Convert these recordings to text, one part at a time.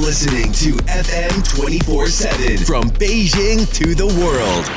listening to FM 24/7 from Beijing to the world.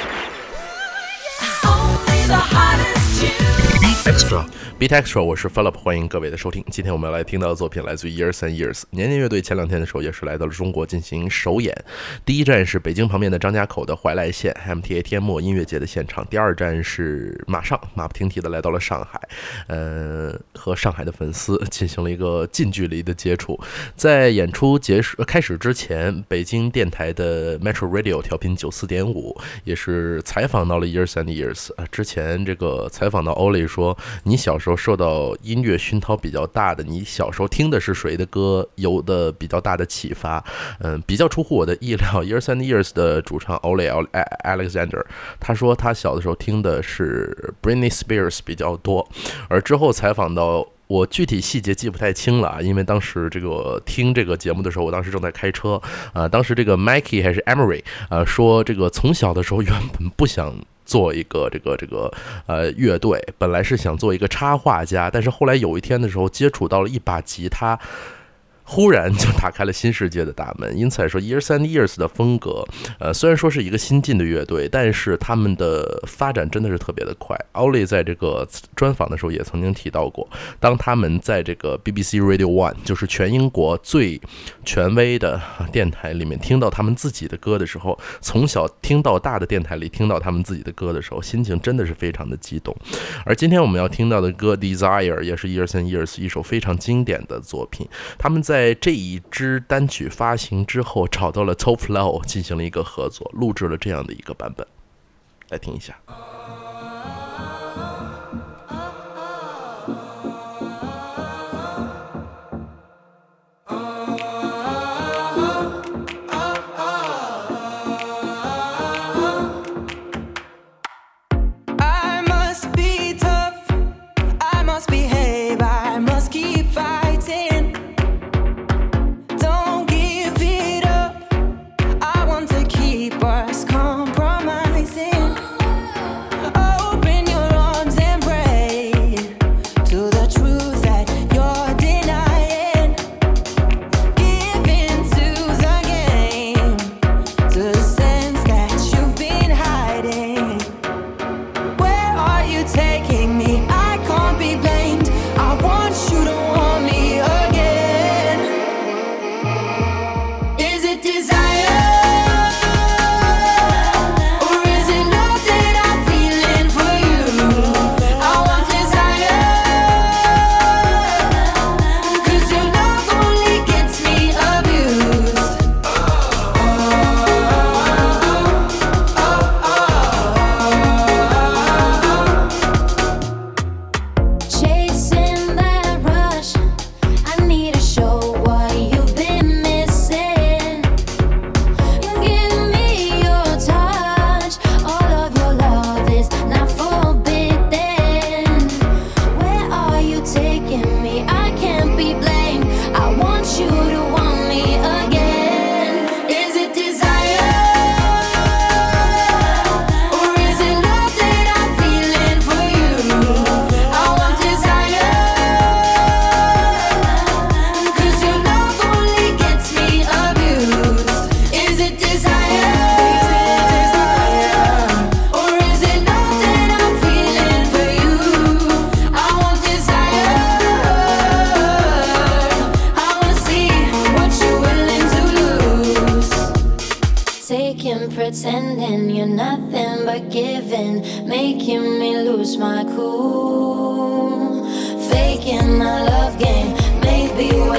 Only the hottest tunes. Beat Extra， 我是 Philip， 欢迎各位的收听。今天我们要来听到的作品来自于 Years and Years。年年乐队前2天的时候也是来到了中国进行首演，第一站是北京旁边的张家口的怀来县 MTA 天幕音乐节的现场，第二站是马不停蹄的来到了上海，和上海的粉丝进行了一个近距离的接触。在演出开始之前，北京电台的 Metro Radio 调频 94.5 也是采访到了 Years and Years。之前这个采访到 Ollie 说，你小时候受到音乐熏陶比较大的，你小时候听的是谁的歌，有的比较大的启发。比较出乎我的意料， Years and Years 的主唱 Ollie Alexander 他说他小的时候听的是 Britney Spears 比较多，而之后采访到我具体细节记不太清了，因为当时这个听这个节目的时候，我当时正在开车。当时这个 Mikey 还是 Emery 说这个从小的时候原本不想做一个乐队，本来是想做一个插画家，但是后来有一天的时候接触到了一把吉他，忽然就打开了新世界的大门。因此来说 Years and Years 的风格虽然说是一个新进的乐队，但是他们的发展真的是特别的快。Ollie 在这个专访的时候也曾经提到过，当他们在这个 BBC Radio 1， 就是全英国最权威的电台里面听到他们自己的歌的时候，从小听到大的电台里听到他们自己的歌的时候，心情真的是非常的激动。而今天我们要听到的歌 Desire 也是 Years and Years 一首非常经典的作品。他们在这一支单曲发行之后找到了 Top Flow 进行了一个合作，录制了这样的一个版本，来听一下。 Pretending you're nothing but giving, making me lose my cool, faking my love game, maybe